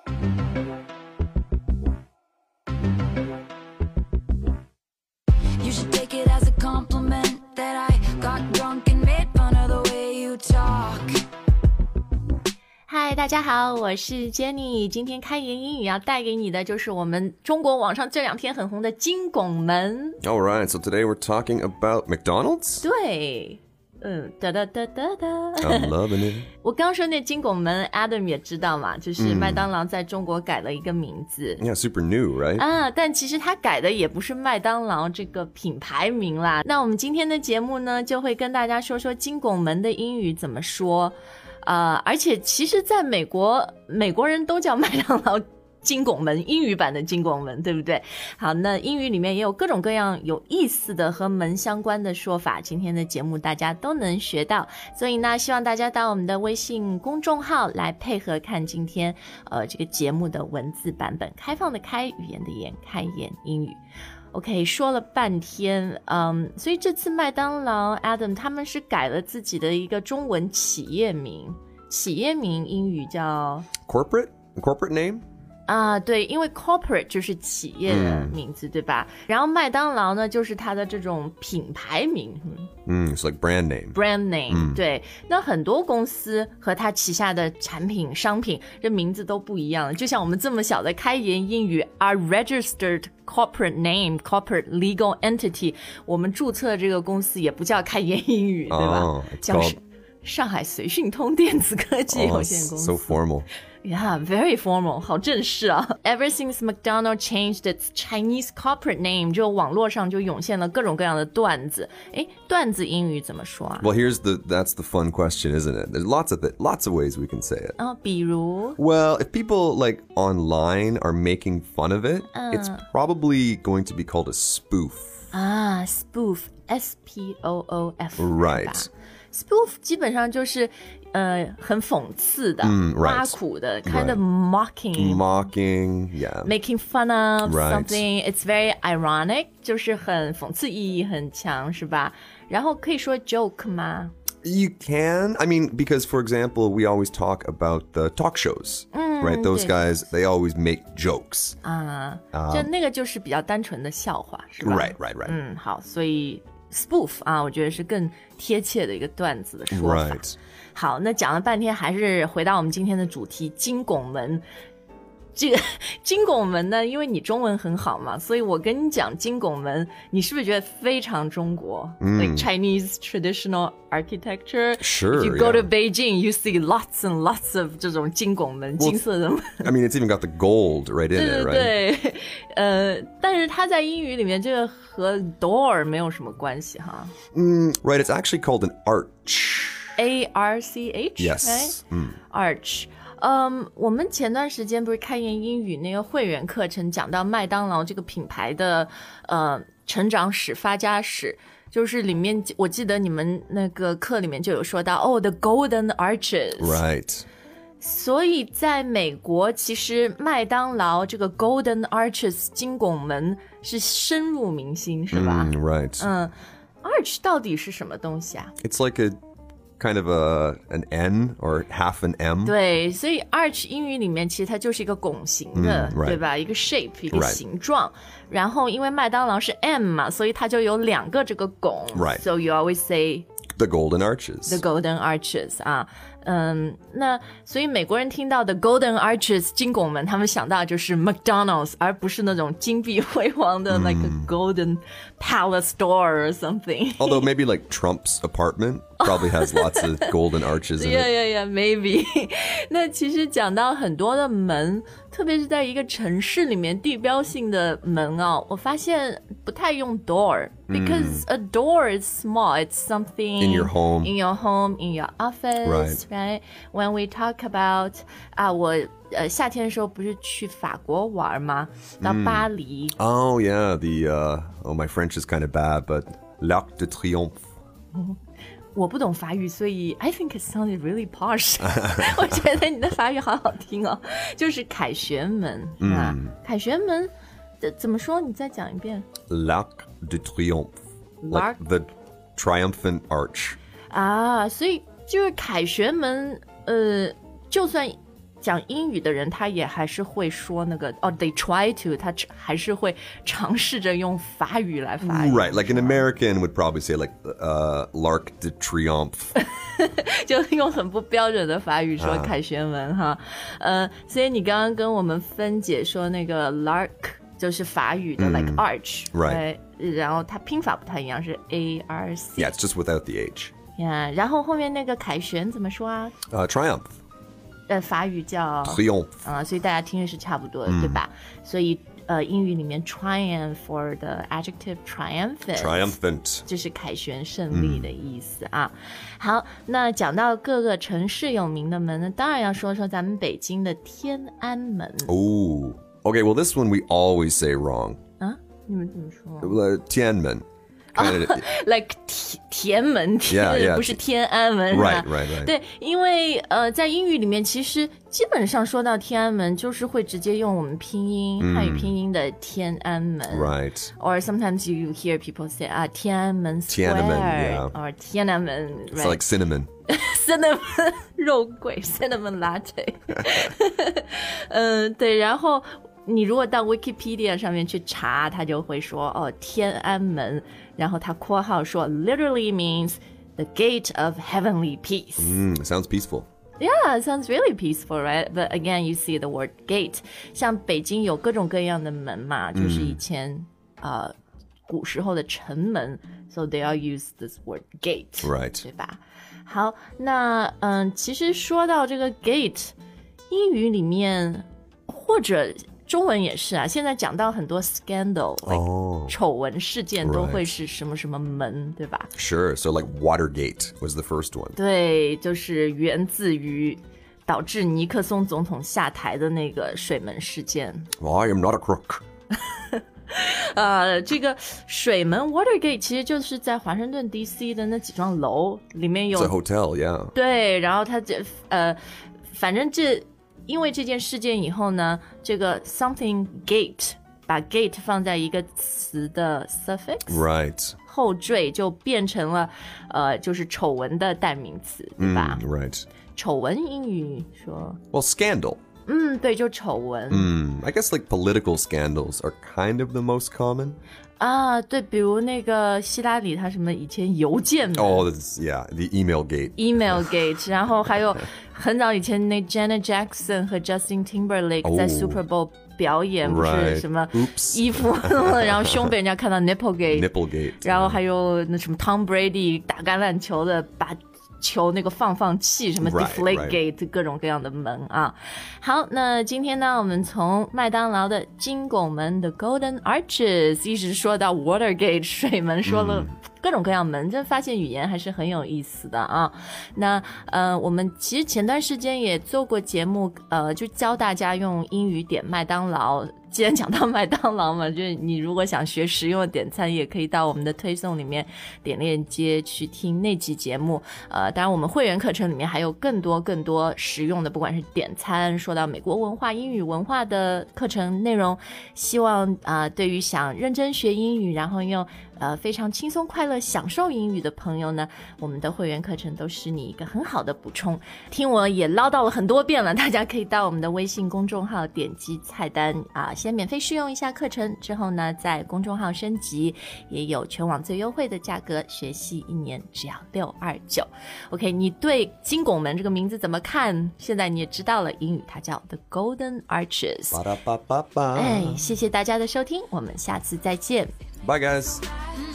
You should take it as a compliment that I got drunk and made fun of the way you talk. 嗨，大家好，我是 Jenny。今天开言英语要带给你的就是我们中国网上这两天很红的金拱门。 Alright, so today we're talking about McDonald's? 对，哒哒哒哒哒。 I'm loving it. 我刚说那金拱门 Adam 也知道嘛，就是麦当劳在中国改了一个名字。 Yeah, super new, right? 但其实他改的也不是麦当劳这个品牌名啦。那我们今天的节目呢，就会跟大家说说金拱门的英语怎么说。而且其实在美国人都叫麦当劳金拱门，英语版的金拱门，对不对？好，那英语里面也有各种各样有意思的和门相关的说法，今天的节目大家都能学到，所以呢，希望大家到我们的微信公众号来配合看今天这个节目的文字版本，开放的开，语言的言，开言英语。OK， 说了半天，所以这次麦当劳 Adam 他们是改了自己的一个中文企业名，企业名英语叫 Corporate name? 对，因为 corporate 就是企业的名字，对吧？然后麦当劳呢，就是它的这种品牌名。 It's like brand name. Brand name，对。那很多公司和它旗下的产品、商品，这名字都不一样。就像我们这么小的开言英语 ，are registered corporate name, corporate legal entity， 我们注册这个公司也不叫开言英语，对吧？叫上海随讯通电子科技有限公司。 So formal.Yeah, very formal, 好正式啊。Ever since McDonald's changed its Chinese corporate name， 就网络上就涌现了各种各样的段子。段子英语怎么说啊？ Well, that's the fun question, isn't it? There's lots of ways we can say it. 比如 Well, if people like online are making fun of it, it's probably going to be called a spoof. spoof, S-P-O-O-F. Right. Spoof 基本上就是很讽刺的，挖苦的 kind of mocking, yeah. making fun of something. It's very ironic, 就是很讽刺意义很强，是吧？然后可以说 joke 吗？ You can. I mean, because, for example, we always talk about the talk shows, right? Those guys, they always make jokes. 就那个就是比较单纯的笑话，是吧？ Right. 好，所以spoof 我觉得是更贴切的一个段子的说法。 Right. 好，那讲了半天，还是回到我们今天的主题金拱门。这个金拱门呢，因为你中文很好嘛，所以我跟你讲金拱门，你是不是觉得非常中国？Like Chinese traditional architecture. Sure. If you go to Beijing, you see lots and lots of 这种金拱门，金色的门。 I mean, it's even got the gold right in it, right? 对，但是它在英语里面这个和 door 没有什么关系哈。 Right, it's actually called an arch. A-R-C-H? Yes. Arch. 我们前段时间不是开言英语那个会员课程讲到麦当劳这个品牌的成长史发家史，就是里面我记得你们那个课里面就有说到the Golden Arches. Right. 所以在美国其实麦当劳这个 Golden Arches 金拱门是深入民心，是吧 ？Right. Arch 到底是什么东西啊？ It's like kind of an N or half an M. 对，所以 arch 英语里面其实它就是一个拱形的，对吧？一个 shape， 一个形状。然后因为麦当劳是 M 嘛，所以它就有两个这个拱。 Right. So you always say the Golden Arches. The Golden Arches 那所以美国人听到的 Golden Arches 金拱门，他们想到就是 McDonald's， 而不是那种金碧辉煌的like a Golden Palace store or something. Although maybe like Trump's apartment probably has lots of golden arches in it. Yeah, maybe. 那其实讲到很多的门，特别是在一个城市里面地标性的门我发现不太用 door because a door is small. It's something in your home, in your office, right? When we talk about 我夏天的时候不是去法国玩吗？到巴黎。 Oh yeah, my French is kind of bad, but l'Arc de Triomphe. 我不懂法语，所以 I think it sounded really posh. 我觉得你的法语好好听就是凯旋门，凯旋门怎么说？你再讲一遍。 L'Arc de Triomphe, like the triumphant arch. 所以就是凯旋门，就算讲英语的人他也还是会说那个they try to 他还是会尝试着用法语来发音 Right, like an American would probably say like L'Arc de Triomphe. 就用很不标准的法语说凯旋门哈。所以你刚刚跟我们分解说那个 L'Arc 就是法语的like arch Right. 然后它拼法不太一样是 ARC Yeah, it's just without the H. yeah, 然后后面那个凯旋怎么说啊 Triumph. 法语叫 Triomphe. 所以大家听的是差不多的对吧所以英语里面 triumph for the adjective triumphant 就是凯旋胜利的意思啊好那讲到各个城市有名的门呢当然要说说咱们北京的天安门 Ooh. Okay, well this one we always say wrong. 啊你们怎么说 Tiananmen. like 天门 Yeah, 不是天安门 Right. 对因为在英语里面其实基本上说到天安门就是会直接用我们拼音汉语拼音的天安门 Right. Or sometimes you hear people say 天安门 Square Tiananmen, yeah. Or 天安门 It's right. like cinnamon. cinnamon 肉桂 cinnamon latte 对然后你如果到 Wikipedia 上面去查它就会说天安门然后它括号说 literally means the gate of heavenly peace Sounds peaceful. Yeah, it sounds really peaceful, right? But again, you see the word gate. 像北京有各种各样的门嘛，就是以前古时候的城门 ，so they all use this word gate, Right. 对吧？好，那其实说到这个 gate， 英语里面或者中文也是啊，现在讲到很多 scandal， 丑闻事件都会是什么什么门，对吧？ Sure. So like Watergate was the first one. 对，就是源自于导致尼克松总统下台的那个水门事件。 Well, I am not a crook. 这个水门 Watergate 其实就是在华盛顿 DC 的那几幢楼里面有 It's a hotel, yeah. 对，然后它反正因为这件事件以后呢，这个 something gate 把 gate 放在一个词的 suffix Right. 后缀就变成了就是丑闻的代名词，对吧？ Right. 丑闻英语说 Well, scandal. 对，就丑闻。 I guess like political scandals are kind of the most common. 对，比如那个希拉里，他什么以前邮件门 Oh, yeah, the email gate. email gate， 然后还有很早以前那 Janet Jackson 和 Justin Timberlake 在 Super Bowl 表演，不是什么衣服，然后胸被人家看到 nipple gate， 然后还有那什么 Tom Brady 打橄榄球的把球那个放气什么 deflate gate 各种各样的门啊。好，那今天呢我们从麦当劳的金拱门的 Golden Arches 一直说到 Watergate 水门，说了各种各样门，真发现语言还是很有意思的啊。那我们其实前段时间也做过节目，就教大家用英语点麦当劳。既然讲到麦当劳嘛，就是你如果想学实用的点餐，也可以到我们的推送里面点链接去听那集节目。当然我们会员课程里面还有更多实用的，不管是点餐，说到美国文化、英语文化的课程内容，希望对于想认真学英语，然后用非常轻松快乐享受英语的朋友呢，我们的会员课程都是你一个很好的补充。听我也唠叨了很多遍了，大家可以到我们的微信公众号点击菜单先免费试用一下课程，之后呢在公众号升级，也有全网最优惠的价格，学习1年只要629。 OK， 你对金拱门这个名字怎么看？现在你也知道了，英语它叫 The Golden Arches。 Ba-da-ba-ba-ba. 谢谢大家的收听，我们下次再见。 Bye, guys.